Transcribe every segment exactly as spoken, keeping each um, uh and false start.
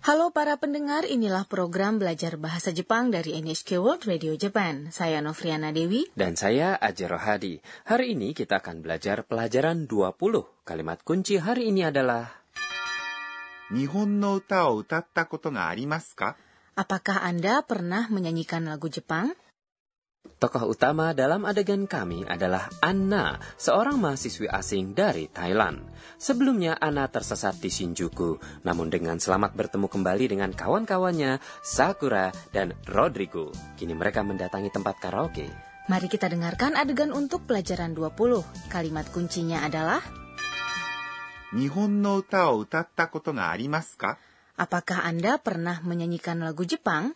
Halo para pendengar, inilah program belajar bahasa Jepang dari N H K World Radio Japan. Saya Novriana Dewi. Dan saya Ajero Hadi. Hari ini kita akan belajar pelajaran dua puluh. Kalimat kunci hari ini adalah Nihon no uta o utatta koto ga arimasu ka? Apakah Anda pernah menyanyikan lagu Jepang? Tokoh utama dalam adegan kami adalah Anna, seorang mahasiswi asing dari Thailand. Sebelumnya Anna tersesat di Shinjuku, namun dengan selamat bertemu kembali dengan kawan-kawannya, Sakura dan Rodrigo. Kini mereka mendatangi tempat karaoke. Mari kita dengarkan adegan untuk pelajaran dua puluh. Kalimat kuncinya adalah Nihon no uta o utatta koto ga arimasu ka? Apakah Anda pernah menyanyikan lagu Jepang?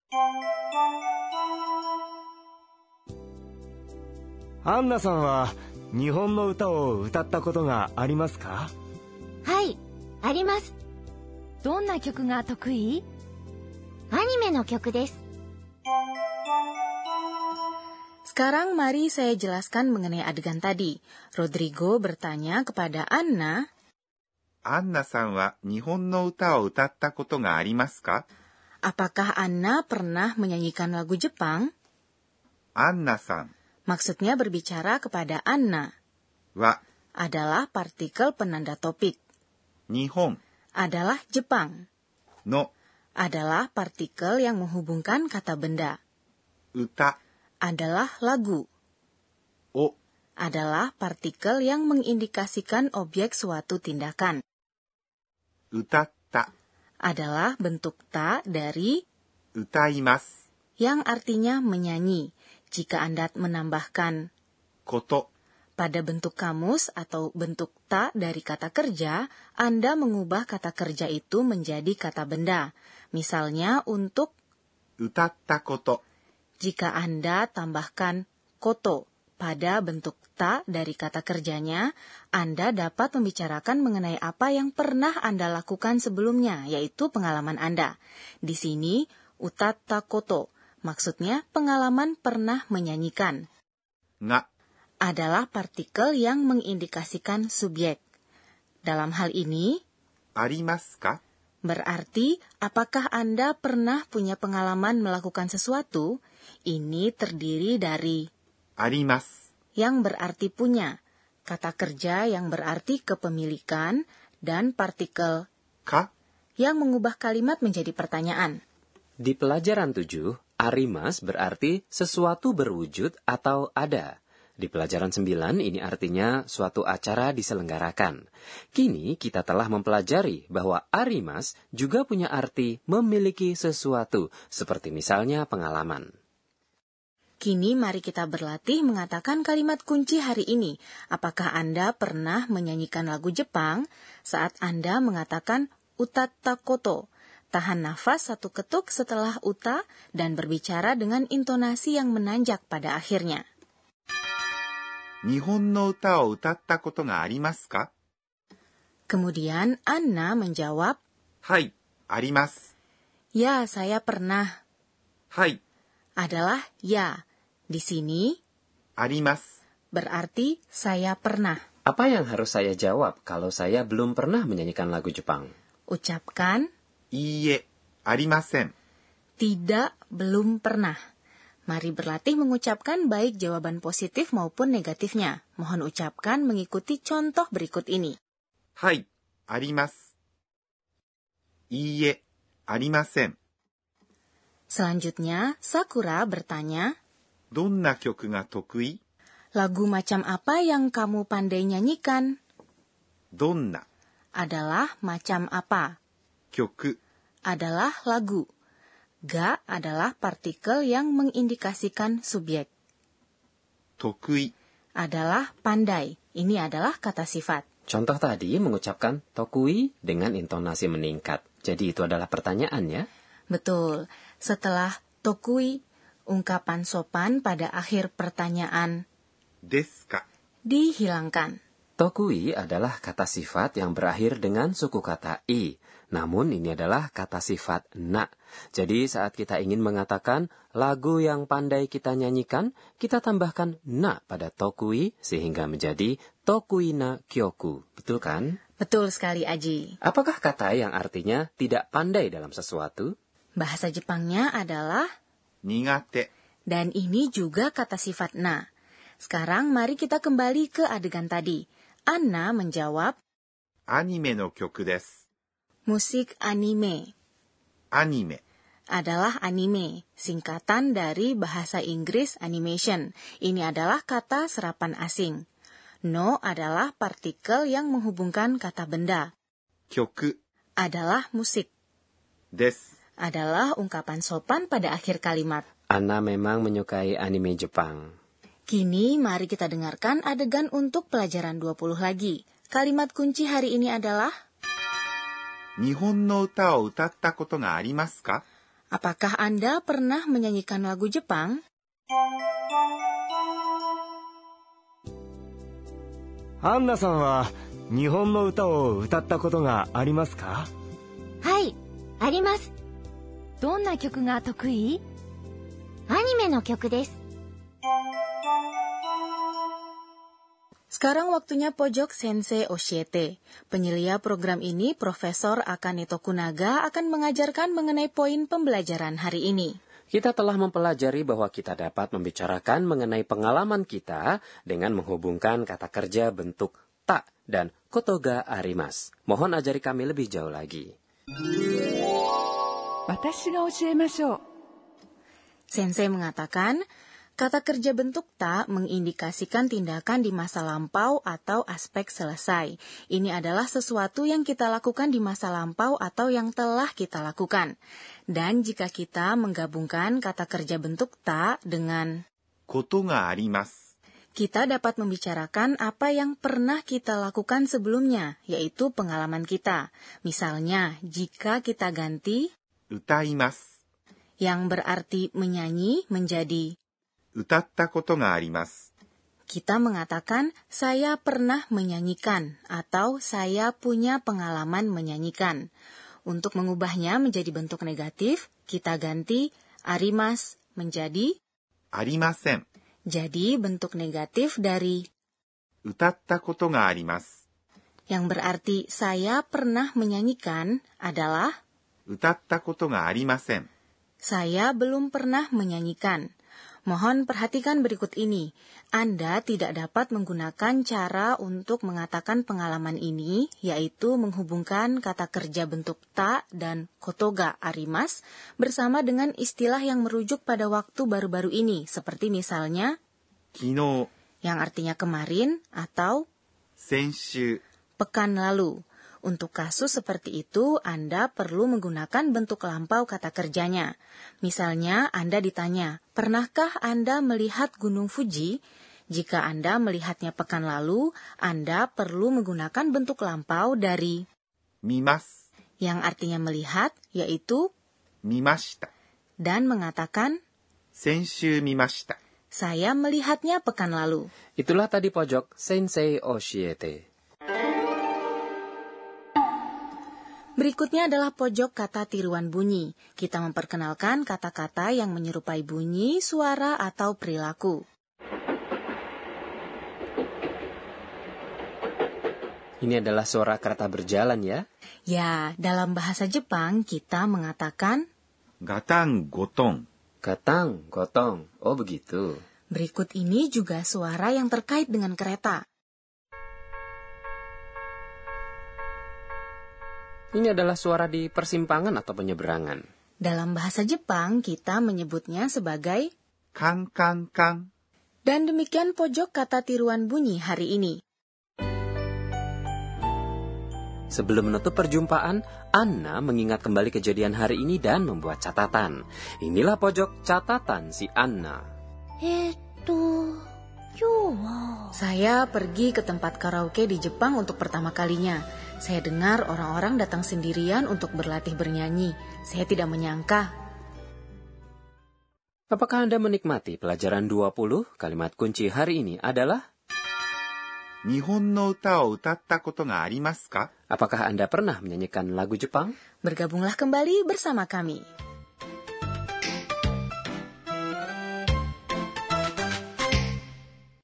Anna さんは日本の歌を歌ったことがありますか？ はい、あります。 どんな曲が得意？ アニメの曲です。 Sekarang mari saya jelaskan mengenai adegan tadi. Rodrigo bertanya kepada Anna, アンナさんは日本の歌を歌ったことがありますか? apakah Anna pernah menyanyikan lagu Jepang? アンナさん Maksudnya berbicara kepada Anna. は Adalah partikel penanda topik. 日本 Adalah Jepang. の Adalah partikel yang menghubungkan kata benda. 歌 Adalah lagu. を Adalah partikel yang mengindikasikan objek suatu tindakan. 歌った Adalah bentuk ta dari 歌います yang artinya menyanyi. Jika Anda menambahkan こと pada bentuk kamus atau bentuk ta dari kata kerja, Anda mengubah kata kerja itu menjadi kata benda. Misalnya untuk 歌ったこと jika Anda tambahkan koto pada bentuk ta dari kata kerjanya, Anda dapat membicarakan mengenai apa yang pernah Anda lakukan sebelumnya, yaitu pengalaman Anda. Di sini, utatta koto, maksudnya pengalaman pernah menyanyikan. が Adalah partikel yang mengindikasikan subjek. Dalam hal ini, ありますか? berarti apakah Anda pernah punya pengalaman melakukan sesuatu? Ini terdiri dari あります yang berarti punya, kata kerja yang berarti kepemilikan, dan partikel か yang mengubah kalimat menjadi pertanyaan. Di pelajaran tujuh, arimas berarti sesuatu berwujud atau ada. Di pelajaran sembilan ini artinya suatu acara diselenggarakan. Kini kita telah mempelajari bahwa arimas juga punya arti memiliki sesuatu, seperti misalnya pengalaman. Kini mari kita berlatih mengatakan kalimat kunci hari ini. Apakah Anda pernah menyanyikan lagu Jepang saat Anda mengatakan utatta koto? Tahan nafas satu ketuk setelah uta dan berbicara dengan intonasi yang menanjak pada akhirnya. 日本の歌を歌ったことがありますか? Kemudian Anna menjawab, はい、あります。 ya saya pernah. はい、 Adalah ya. Di sini あります。 berarti saya pernah. Apa yang harus saya jawab kalau saya belum pernah menyanyikan lagu Jepang? Ucapkan いいえ、ありません。 tidak, belum pernah. Mari berlatih mengucapkan baik jawaban positif maupun negatifnya. Mohon ucapkan mengikuti contoh berikut ini. はい、あります。いいえ、ありません。 Selanjutnya, Sakura bertanya, どんな曲が得意? lagu macam apa yang kamu pandai nyanyikan? どんな Adalah macam apa. 曲 Adalah lagu. Ga adalah partikel yang mengindikasikan subjek. 得意 Adalah pandai. Ini adalah kata sifat. Contoh tadi mengucapkan tokui dengan intonasi meningkat. Jadi itu adalah pertanyaan ya? Betul. Setelah tokui, ungkapan sopan pada akhir pertanyaan ですか? dihilangkan. Tokui adalah kata sifat yang berakhir dengan suku kata i. Namun ini adalah kata sifat na. Jadi saat kita ingin mengatakan lagu yang pandai kita nyanyikan, kita tambahkan na pada tokui sehingga menjadi tokui na kyoku. Betul kan? Betul sekali, Aji. Apakah kata yang artinya tidak pandai dalam sesuatu? Bahasa Jepangnya adalah 苦手、 dan ini juga kata sifat na. Sekarang mari kita kembali ke adegan tadi. Anna menjawab, アニメの曲です。 musik anime アニメ、 adalah anime, singkatan dari bahasa Inggris animation. Ini adalah kata serapan asing. No adalah partikel yang menghubungkan kata benda. 曲 Adalah musik. です。 Adalah ungkapan sopan pada akhir kalimat. Anna memang menyukai anime Jepang. Kini mari kita dengarkan adegan untuk pelajaran dua puluh lagi. Kalimat kunci hari ini adalah, 日本の歌を歌ったことがありますか？ apakah Anda pernah menyanyikan lagu Jepang? アンナさんは日本の歌を歌ったことがありますか？ はい、あります。 どんな曲が得意？ アニメの曲です。 Sekarang waktunya pojok Sensei Oshiete. Penyelia program ini, Profesor Akane Tokunaga akan mengajarkan mengenai poin pembelajaran hari ini. Kita telah mempelajari bahwa kita dapat membicarakan mengenai pengalaman kita dengan menghubungkan kata kerja bentuk ta dan kotoga arimas. Mohon ajari kami lebih jauh lagi. 私が教えましょう。 Sensei mengatakan, kata kerja bentuk ta mengindikasikan tindakan di masa lampau atau aspek selesai. Ini adalah sesuatu yang kita lakukan di masa lampau atau yang telah kita lakukan. Dan jika kita menggabungkan kata kerja bentuk ta dengan ことがあります。 kita dapat membicarakan apa yang pernah kita lakukan sebelumnya, yaitu pengalaman kita. Misalnya, jika kita ganti 歌います。 yang berarti menyanyi menjadi 歌ったことがあります。 kita mengatakan saya pernah menyanyikan atau saya punya pengalaman menyanyikan. Untuk mengubahnya menjadi bentuk negatif, kita ganti arimas menjadi ありません。 jadi bentuk negatif dari 歌ったことがあります。 yang berarti saya pernah menyanyikan adalah 歌ったことがありません。 saya belum pernah menyanyikan. Mohon perhatikan berikut ini. Anda tidak dapat menggunakan cara untuk mengatakan pengalaman ini, yaitu menghubungkan kata kerja bentuk ta dan kotoga arimas bersama dengan istilah yang merujuk pada waktu baru-baru ini, seperti misalnya 昨日、 yang artinya kemarin atau 先週、 pekan lalu. Untuk kasus seperti itu, Anda perlu menggunakan bentuk lampau kata kerjanya. Misalnya, Anda ditanya, pernahkah Anda melihat Gunung Fuji? Jika Anda melihatnya pekan lalu, Anda perlu menggunakan bentuk lampau dari 見ます。 yang artinya melihat, yaitu 見ました。 dan mengatakan, 先週見ました。 saya melihatnya pekan lalu. Itulah tadi pojok Sensei Oshiete. Berikutnya adalah pojok kata tiruan bunyi. Kita memperkenalkan kata-kata yang menyerupai bunyi, suara, atau perilaku. Ini adalah suara kereta berjalan ya. Ya, dalam bahasa Jepang kita mengatakan ガタンゴトン。 Gatang, gotong. Oh begitu. berikut ini juga suara yang terkait dengan kereta. Ini adalah suara di persimpangan atau penyeberangan. Dalam bahasa Jepang kita menyebutnya sebagai カンカンカン。 dan demikian pojok kata tiruan bunyi hari ini. Sebelum menutup perjumpaan, Anna mengingat kembali kejadian hari ini dan membuat catatan. Inilah pojok catatan si Anna. えーっと、今日は... Saya pergi ke tempat karaoke di Jepang untuk pertama kalinya. Saya dengar orang-orang datang sendirian untuk berlatih bernyanyi. Saya tidak menyangka. Apakah Anda menikmati pelajaran dua puluh? Kalimat kunci hari ini adalah 日本の歌を歌ったことがありますか？ apakah Anda pernah menyanyikan lagu Jepang? Bergabunglah kembali bersama kami.